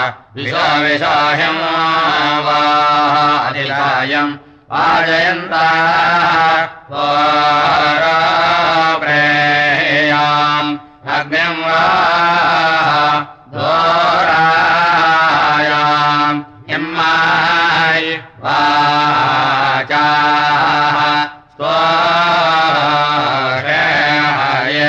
विशोहिम् वादिलायम् वाजयन्तः प्रेयाम् अग्निम् वा दोरायाम् इम्माय वाचाः स्वशेहाय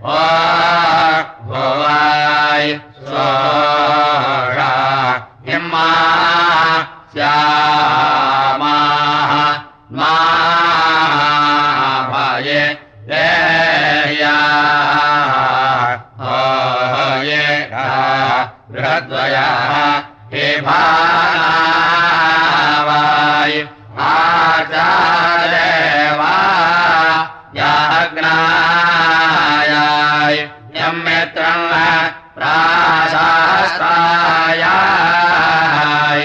भुवाय स्वशा इम्मा श्यामाः मा भये ये बृहद्वयः हे भावाय आचार्यवा याग्नायाय यं मित्रं प्राशास्त्रायाय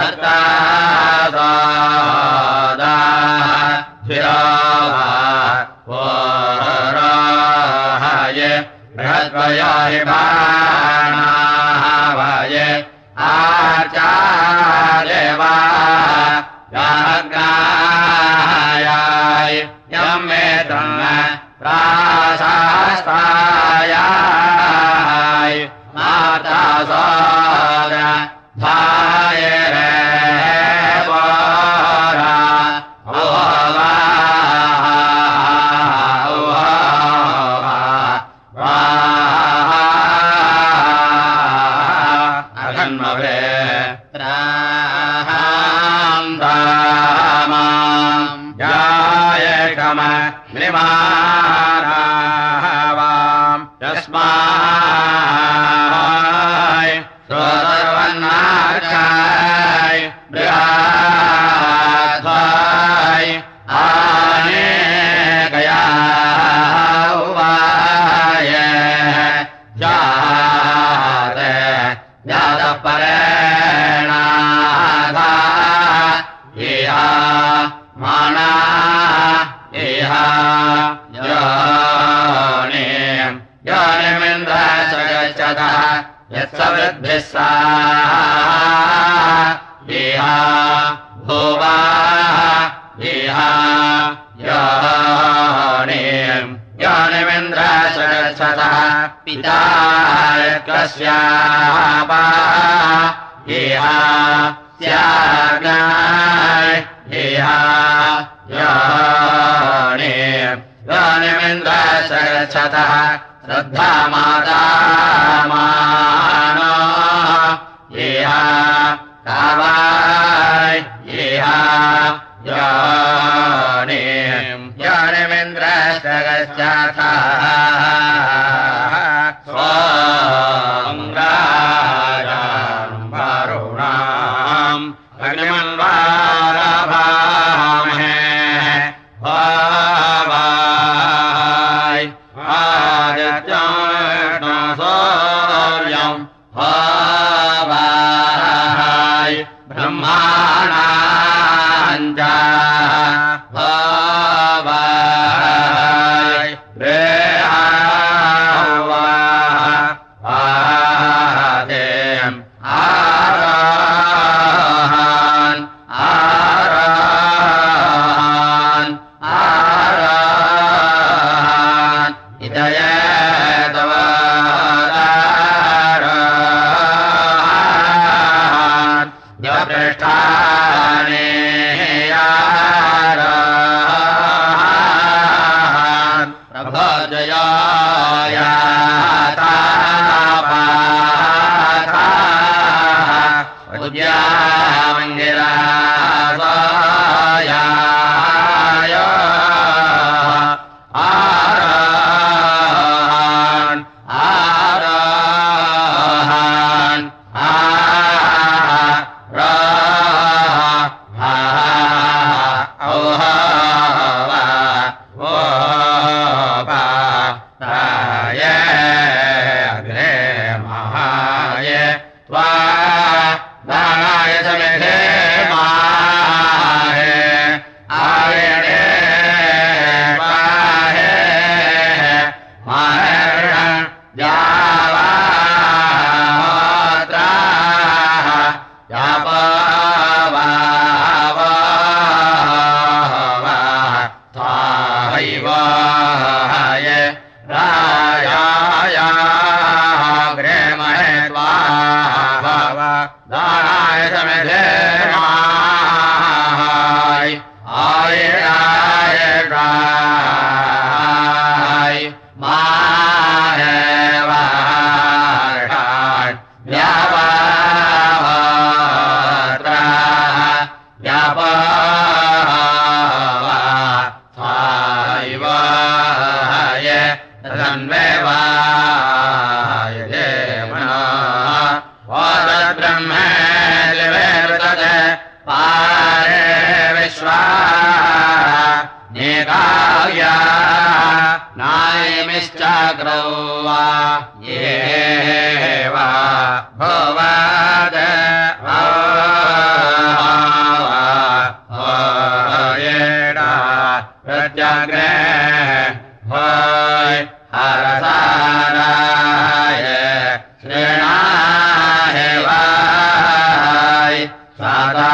मत्तादाः शिरावा वराय बृहद्वयाय भाणावाय आचार्यवा याग्नायाय यं मित्रं प्राशास्त्रायाय माता सोदरा धाय रे बोरा ओवा अघन्मवे त्राहान्तामाम् जाय कम निमारावाम् यस्माय स्वसर्वन्नार्चाय बृहाध्वाय आनेकया उवाय जाते जातः परेणाधा इहा माना इहा योनिमिन्द्रः गच्छतः यत्सवृद्भिः साः इहा भुवा इहा योनिमिन्द्रः गच्छतः पिता कस्यापा इहा स्याग्नाय इहा योनिमिन्द्रः गच्छतः श्रद्धा माता मानो इहा कावाय इहा योनिमिन्द्रः गच्छतः स्वं राजां वरुणाम् अग्निमन्वारभामहे भावाय आदित्यं सूर्यं भावाय ब्रह्माणाञ्च भावाय आदेम् आराहान् आराहान् आराहान् इदयेतवाराहान् यपृष्ठानि आराहान् प्रभोजयाय आराहान् आराहान् स्वाहा दानाय समिधे माय आयराय गाय माहे वाषाय व्यापात्रा व्यापावा थायवाय तन्वेवाय देवना वादब्रह्मे लिवेर्तते पारे विश्वा निकाव्या नायमिश्चक्रौ वा ये वा भुवद येडा प्रत्यग्रे भय हरसाराय श्रेणाय वाय सदा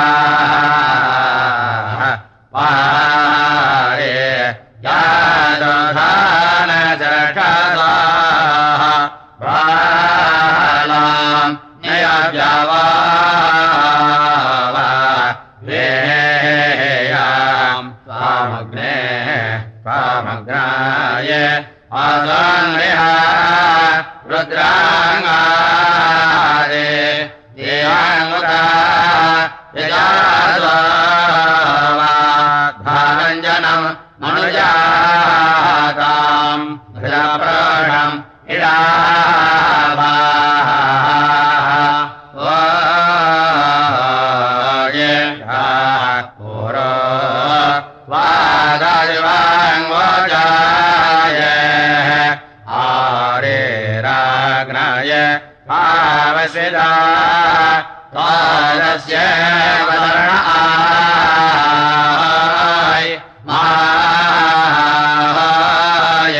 पारे यादधान जठदा बालां न्ययव्यवा वेयां स्वामग्ने स्वामग्नाय आसन्निहा रुद्राङ्गादे देवाङ्गुता यजास्वाधारञ्जनं मनुजातां भजप्रणम् इडाभाये पुरो वादादिवाङ्गोजाय आरेराग्नाय पावसिदा तादस्य वदर्णाय माय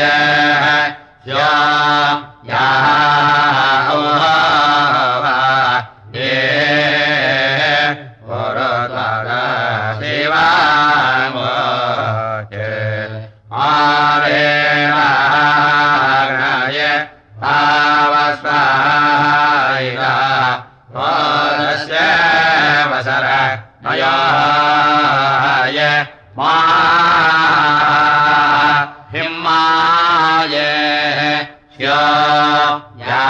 हिम्माय श्यो या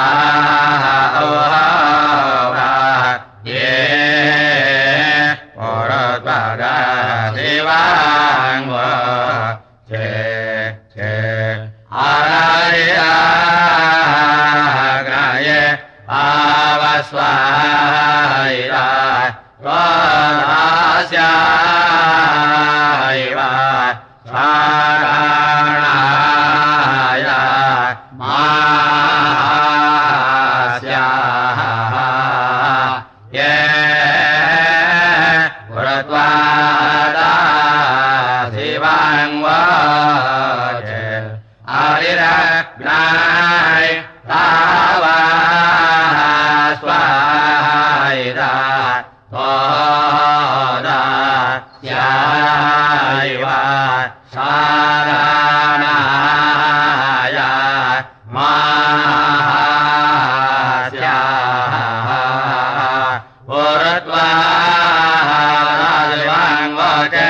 ये पुरद्वारा देवाङ्ग चे आराय आवस्वायरा स्वादास्याय स्वाराणाय मास्याः ये पुरद्वारा शिवाङ्गवाचे आरिरग्नाय तावा स्वायरा स्वादास्यायवा साराणाय मास्याः पुरद्वारा शिवाङ्गवाचे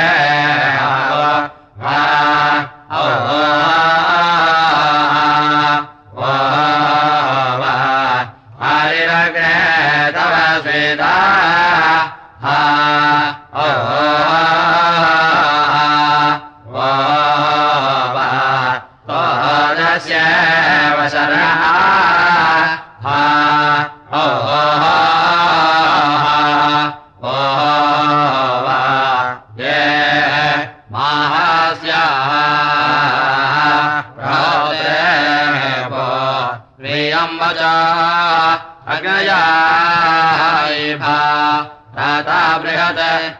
हरिरग्ने तव स्वेदा तोदस्य वशरः ये महास्याः प्रियम्बचा अग्नयायभा राता बृहत्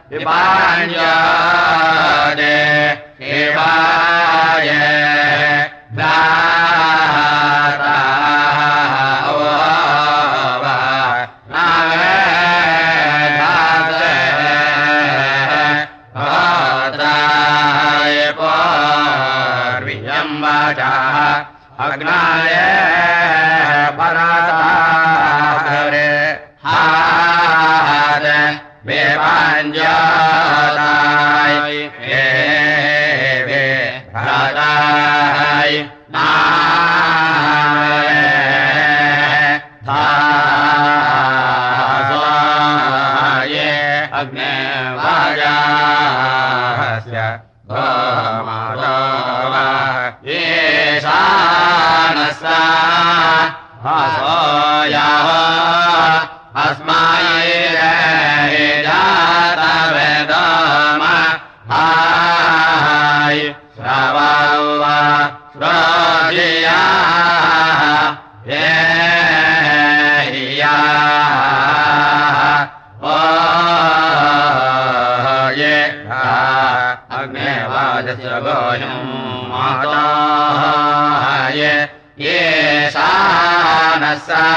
विपाण्यदे शिवाय भ्राता नावेधासे भद्राय पूर्वियम्बचा अग्नाय भरता अस्माये जातवेदम हाय श्रवव श्रोधिया ये हिया ओ ये अग्नेवाजस्य गोयं माता ये शानसा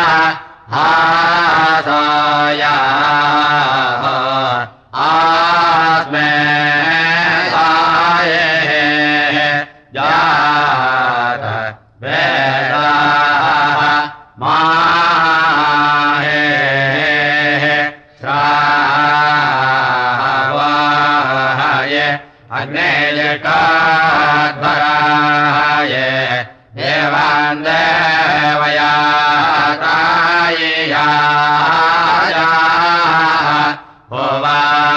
हासया आस्मे साये जात वेदा माहे श्रावाये अग्नेयकाध्वराये देवान् देवयातायया होवा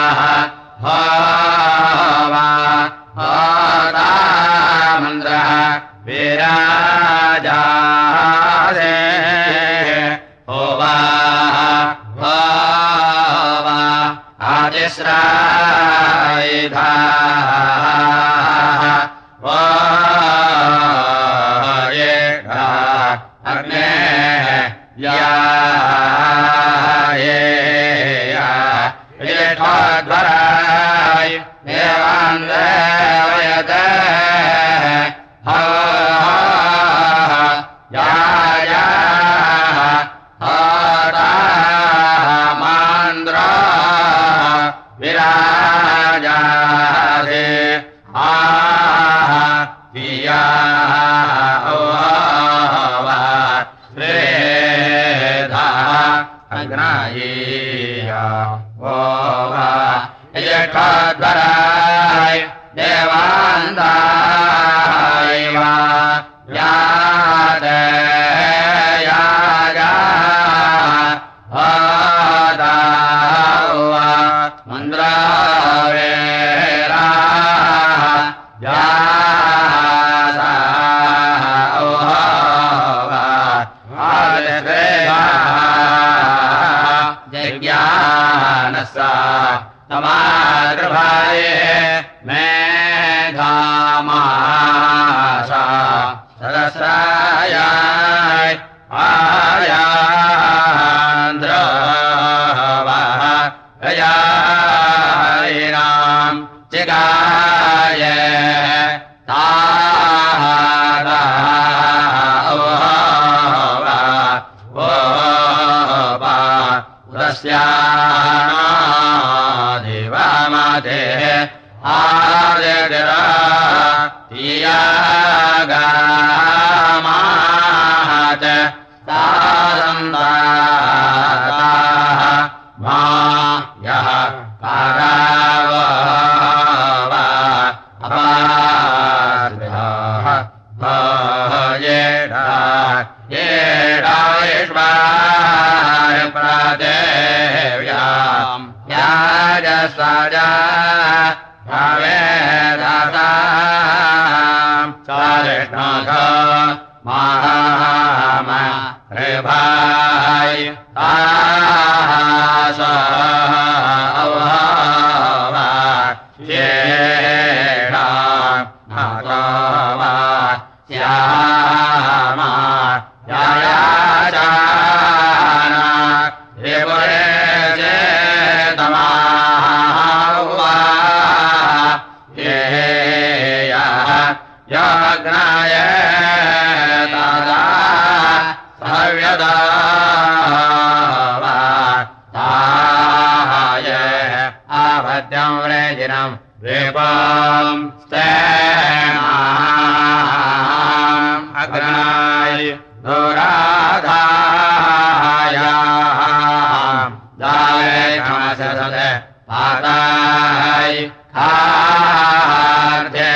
होवा होता मन्द्रः विराजासे होवा होवा आदिस्रायिधा अग्ने या येष्ठध्वराय देवान् देवयते या होता मान्द्र विराजासे दिया अग्नायीया ओवा येष्ठध्वराय देवान् दायवा याते यागा होदावा मन्द्रावेरा यासा ओवा ज्ञानसा तमाद्रभाये मेधामासा सदस्रायाय आयान्द्रवः गयारिणाम् चिगाये तादा उदस्यानादिवामते आदिरा तियागामात तादन्दाताः मा यः पाराववा अपास्विधाः येडा येडायश्वाय प्रादेव्याम् याजसाजा भवेदासाम् सारिष्णाथ महाम ऋभाय तासा अववा येडा नाथवा श्यामा यायाचाना त्रिपुरे चेतमाहुवा ये यज्ञाय तदा सव्यदा ताय आभद्यं व्रेजिनं द्वीपं स्तेनाम् अग्नाय दुराधायाम् दावे क्षमसदे पाताय खार्थे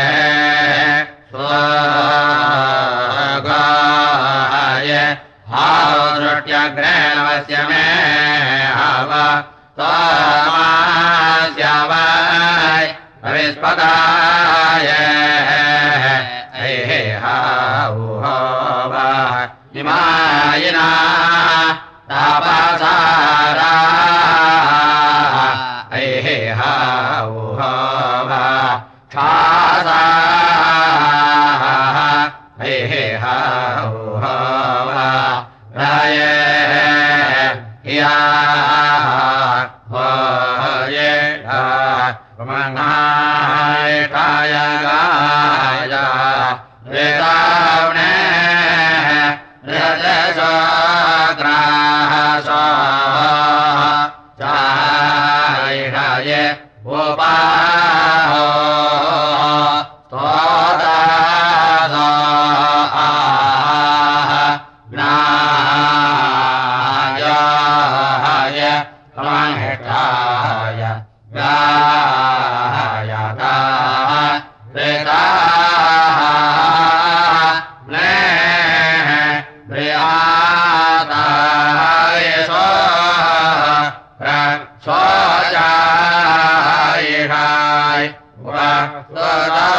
स्वगाय हावदृष्ट्यग्रेणवस्य मे हव त्वमास्यावाय विस्पदाय हे हावुहवा इमायिना तापसारा ऐहा उहवा क्षासा ऐहा उहवा राये या होये मंगाय काय गाया वेदावने रजसो ग्रासो चाये उपाहो तोदासो ज्ञाय कमहेठाय गायता वेदा ने प्रियाताय सोजाय वसदा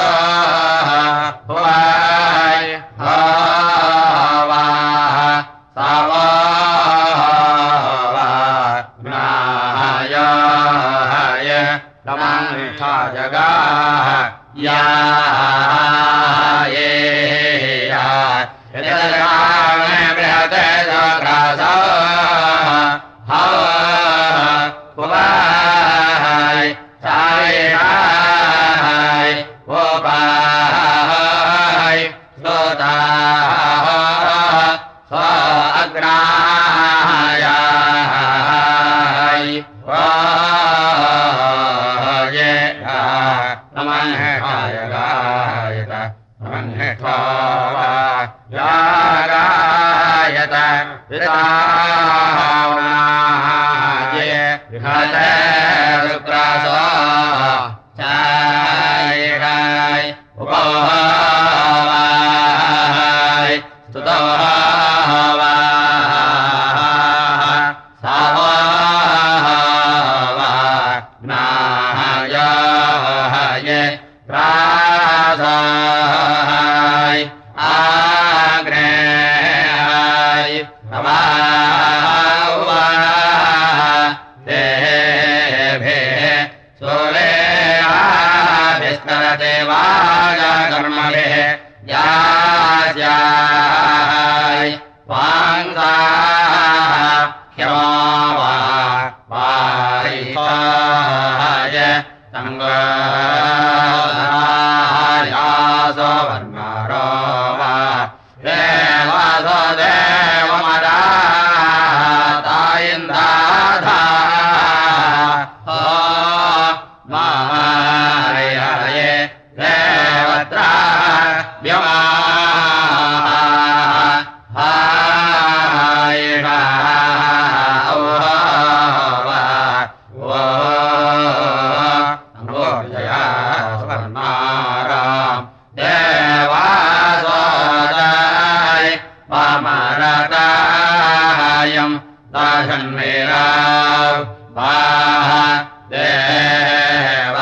हुआय हवा सावा ज्ञाय तमंथा जगा या ये या यदगाने बृहते जग्रासा हवाय चाय वोपाय सोता स्वाग्राय वाये नमः गायत नमः गायत विदावनाये विहते रुद्रासो चाय उपवाय स्तुतवाय ज्ञाय प्रासाय आग्नेय नवावा देभे सोलेयाभिस्तरते वाजा कर्मभिः यास्याय वाङ्गा ह्यवा वायिताय संगायासो वर्णारो वा देवासो देवमदा तायिन्दाधा हो मायाये देवत्रा व्यमा दाशन्मेरा देवा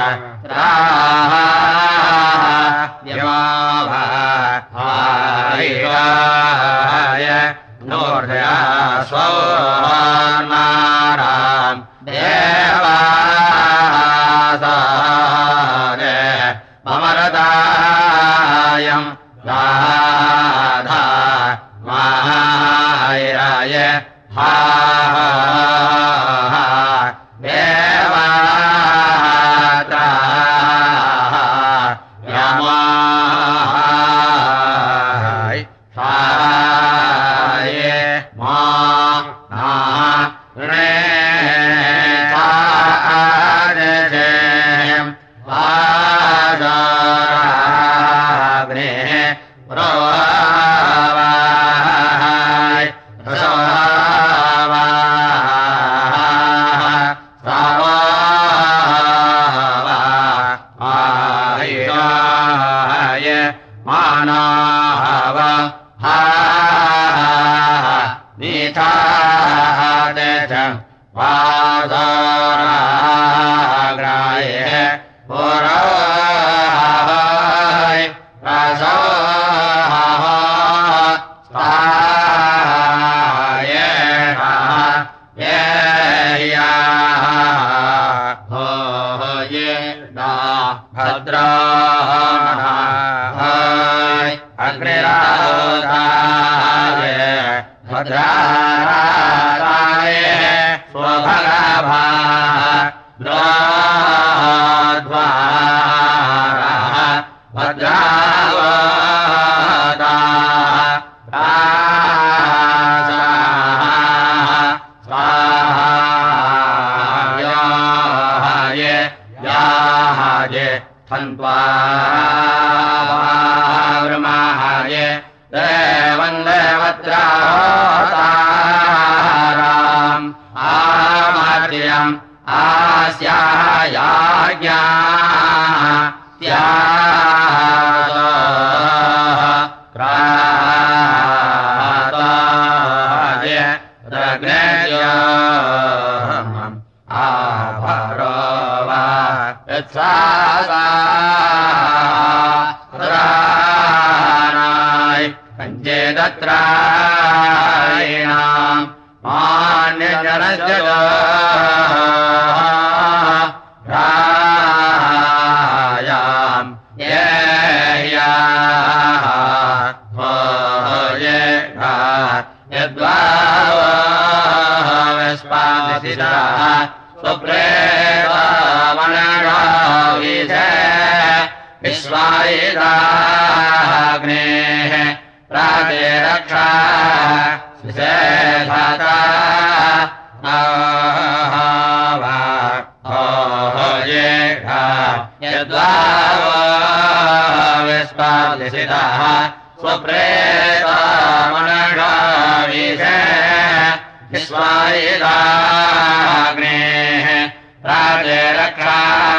यमाय नोर्धया स्वनाराम देवा ममरदायम् राधा मायाय हा देवाता यमाय साय मा रे सादे वादाग्ने मानाव हा निथादेथ वादाराग्राय पुराय रसाय ये ह्याः हो ये दा भद्राः अग्निराधाय भद्राराय स्वभगाभाः द्वारः भद्रावताः स्वाहाय याहाय थन्त्वा ब्रह्माय देवन्देवत्रावताराम् आमार्यम् आस्यायाज्ञा क्राताय रग्नेयम् आभरो वा यत्सानाय पञ्चेदत्रायणाम् रायाम् ये यद्वास्पादिशिरः स्वप्रेतामनगाविषे विश्वायिताग्नेः प्रातिरक्षा विषेधता यद्वास्पादिशिरः स्वप्रेतामनगाविषे विश्वायिताग्नेः प्रातिरक्षा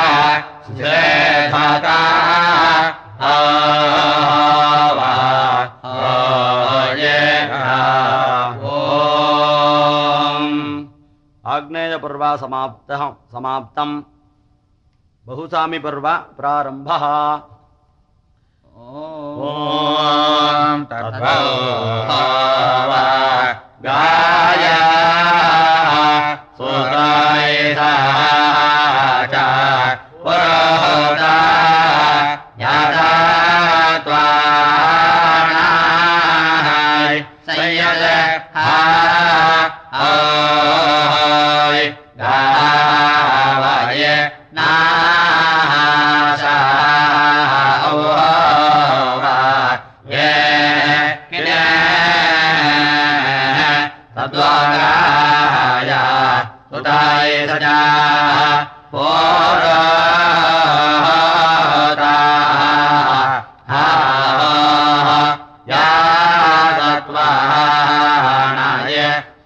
विषेधता आग्नेय पर्व समाप्तम् बहुसामी पर्व प्रारम्भः ॐ तद्भव गाय सुतायिता च पुरोहता यदा त्वाणाय संयत गावय नाशा ये किने तद्वाराय सुताय सजा पुरोहता या सत्वाणाय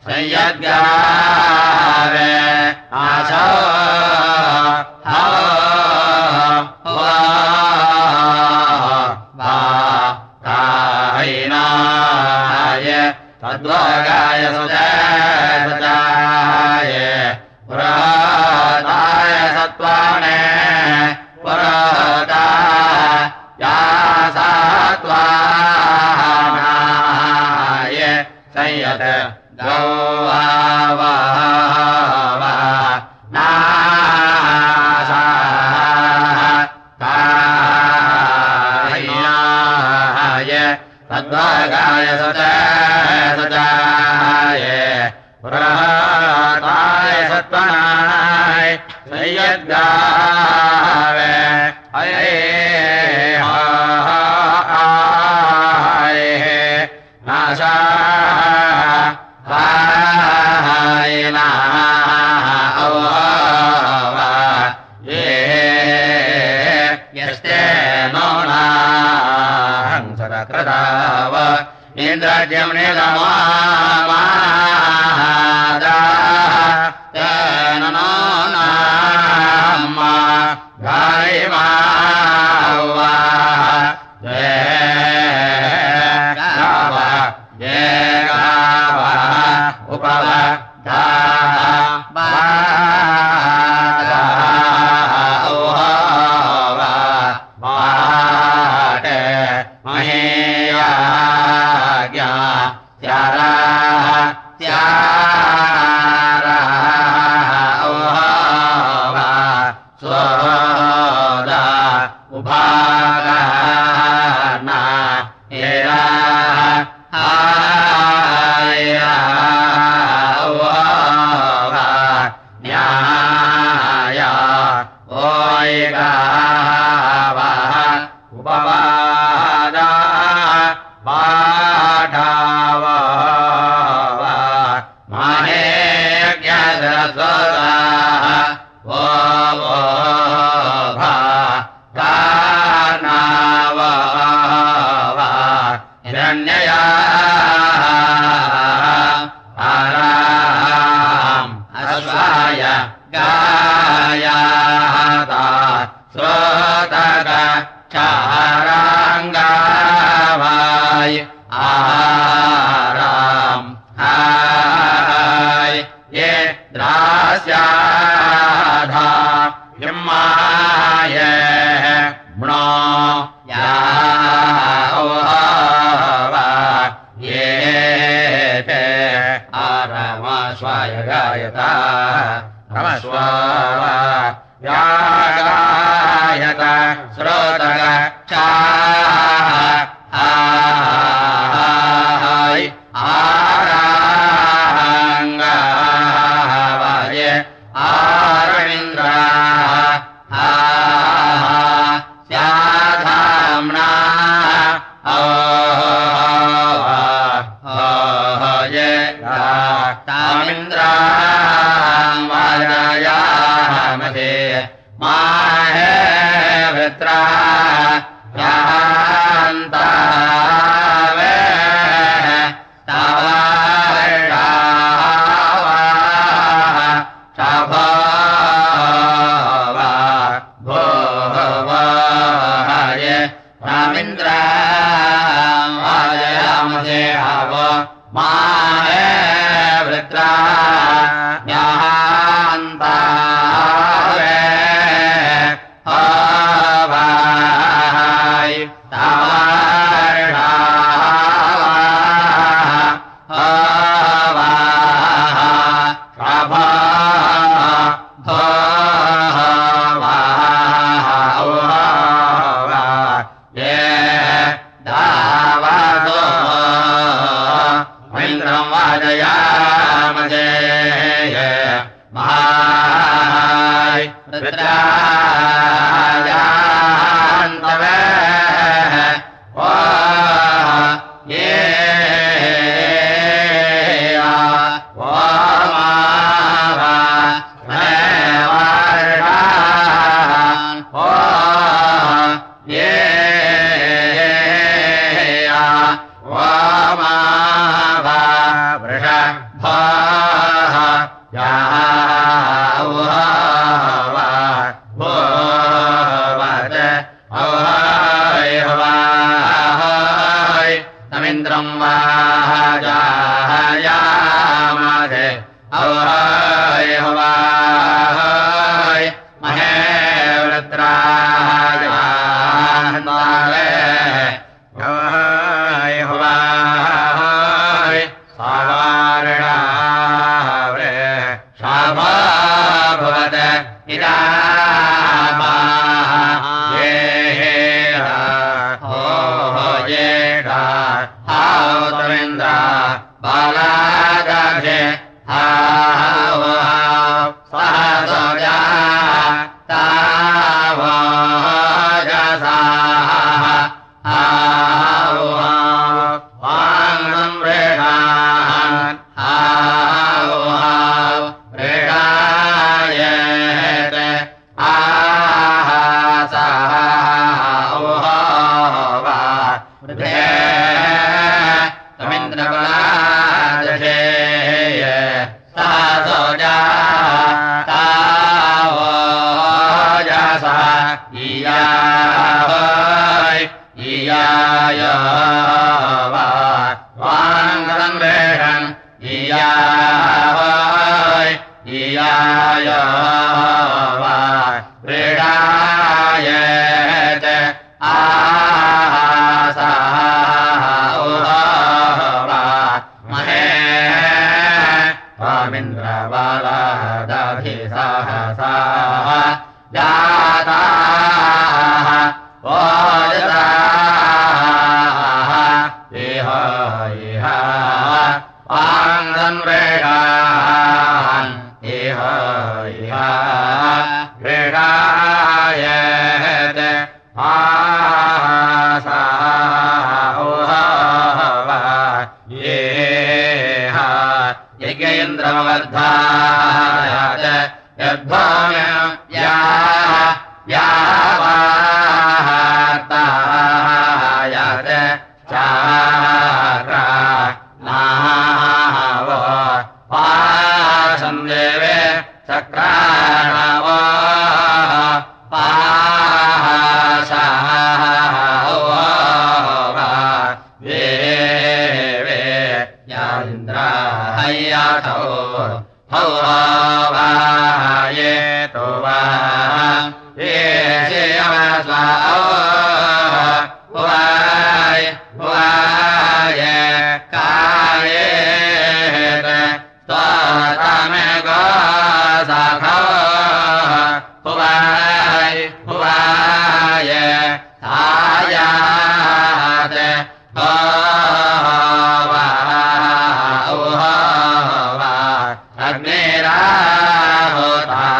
संयज्ञावे आशो तद्वागाय सजाय पुरोहताय सत्वाने पुरोहता या सत्वानाय संयत गौवा नाशा कायिनाय तद्वागाय सजाय पुरोहताय सत्वानाय संयज्ञावे नाशा यस्ते नोनाहंसरकृताव इन्द्रज्यं निगमादा तेन नोनाम गायिमावा ये गाव उपवधा महेयाज्ञा त्यारा महेज्ञासरस्वताः वो भा गानाव हिरण्यया आराम अश्वाय गायाता श्रोतक चारांगावाय आराम हाय ये द्रास्याधा हिम्माय मृणो यावा ये ते आरामश्वाय गायता नमस्वावा यागायत श्रोतक चाय आरांगावाय आरविन्द्र स्याधाम्ना ये तामिन्द्रा वाजयामहे माहे वृत्रा यान्तावे तावार्षावा शाभवा भोवाय रामिन्द्रा वाजयामहे आव माहे वृत्रा यान्तावे अवाय तावार्षावा अवा शाभा भवा ये दावादो इन्द्रं वाजयामहे महाय रुद्रायान्तवे ओ ये ओ मावा मेवार्षान् ओ ये ओ मावा वृषभाः याववा भोवत अवहाय हवाय तमिन्द्रं वाजायामहे अवहाय हवाय महे वृत्राय अवहाय हवाय सावार्णावृ शाभा भवत इदामा ये हो ये हावतमिन्द्र बालादे हाव सहसोजा तावजसा हाव वाङ्गं रेणान् हाव रेणायत आहासः ओहवा तमिन्द्रबलादशे सहसोजा तावजसा इयाय इयाय वाङ्गं रेणन् इयाय इयाय क्रीडायत आहासः ओहवा महे स्वामिन्द्रबालादभिसहसा जाताः ओजसाः इह इह वाङ्गं रेणान् इह इह क्रीडायत आहासः ओहवा ये यज्ञेन्द्रम वर्धायात यद्भूमिम् यावार्तायात चाक्रा नावो पाशम् देवे चक्राणवो पाशावो वेवे यान्द्राहय्याथो हौ वाये तो वा ये शिवस्वाओ वाये कायेत स्वतमे गोसाखो वाये आयात अग्निराहुता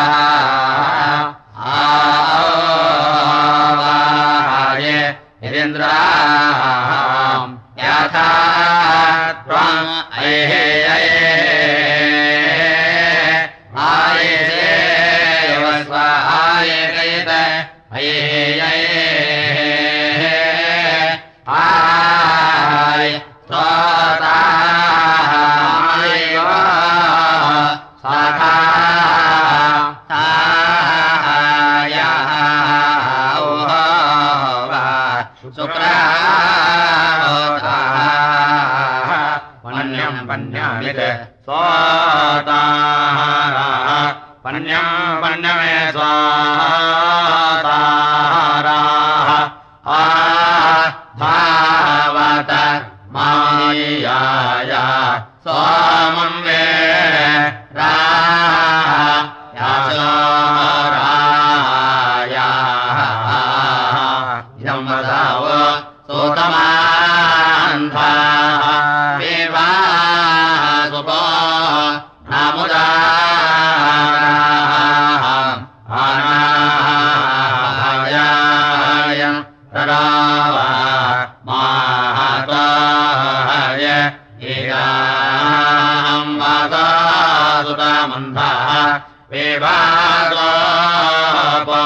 आवाये हिरेन्द्राम् यथा त्वम् आयेषे वस्व आयेकयत आय स्वता साखा शुक्राहोता पन्यम् पन्यमित स्वातारा पन्यम् पन्यमे स्वातारा धावत मायाया स्वामम् वे राया यम्बदाव सोतमान्था विवासुपो नामुदाराम् अनायाय तरावा माताय इराम् वासासुतमन्थः विवासोपो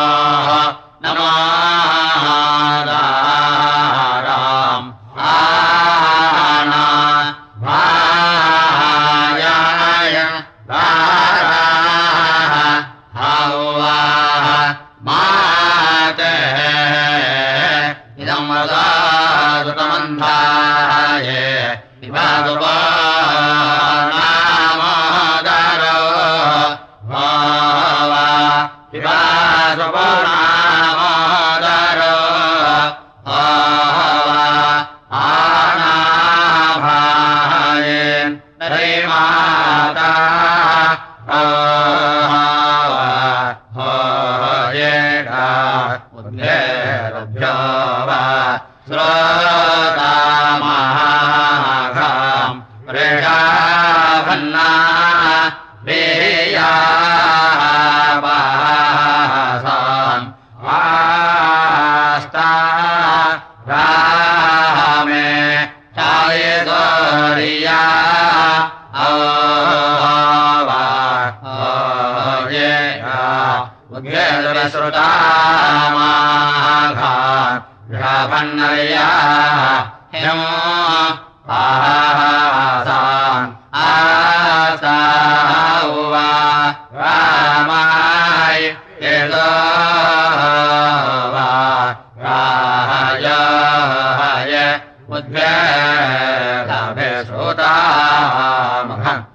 नमोदाराम् आना भायाय दाराः हौवाः माते इदम् वदासुतमन्थाय विवासुपो नामोदरो भावा विवासुपो नामोदरो भावा आनाभायेन नरिमाता होयेगा उद्येरभ्यो वा श्रोतामाघाम् रेषाभन्ना वेयावासाम् आस्ता रामे चायेश्वरिया उद्येश्रुतामाघाम् राभन्नया हिम आसान् आसावा रामाय यदो वा राजाय उद्भेदाभे श्रोतामघम्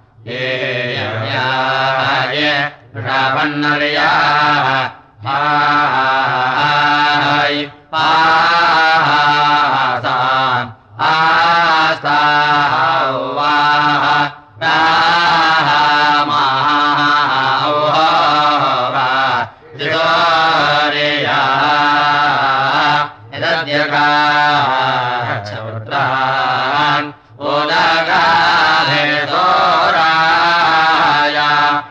येयाय राभन्नया हाय पासान् आस्तावा रामावा जिगोरिया यदद्यगाच्छवृत्रान् उदगाधे सोराया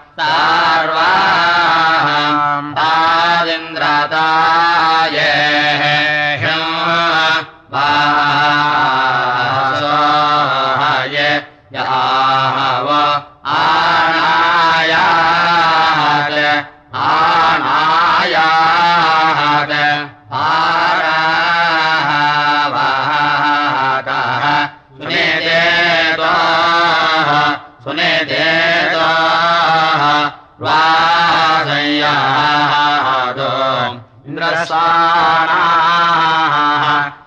सार्वाम् तादिन्द्रताय वासोहाय याव इन्द्रस्वानाः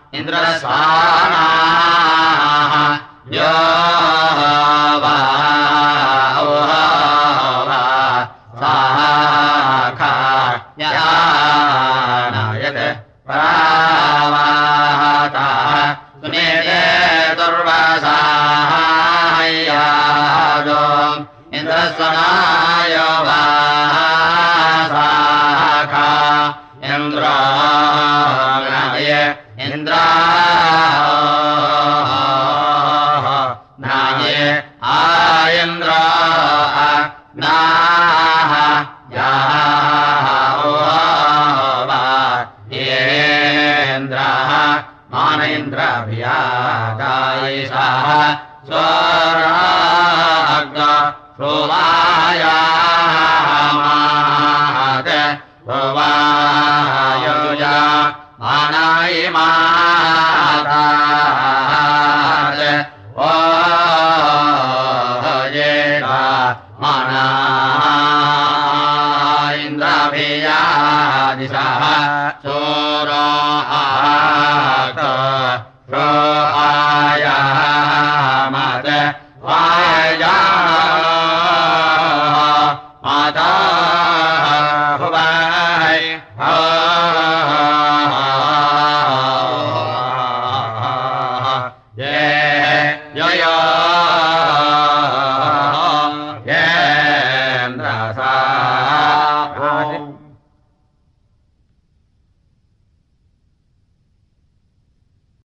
इन्द्रस्वानाः यो वा साखा यानायते प्रावाताः सुनेते दुर्वासायादो इन्द्रस्वनाय वा साखा इन्द्राय इन्द्राय आयन्द्र नाः येन्द्रः मानेन्द्रभियादायिषः स्वराग् प्रोवायामाद प्रोवायुजा मानायिमादाद ओ येषा माना इन्द्राभियादिशः चोराग प्रोआयामद वाया माता हुवै ये यो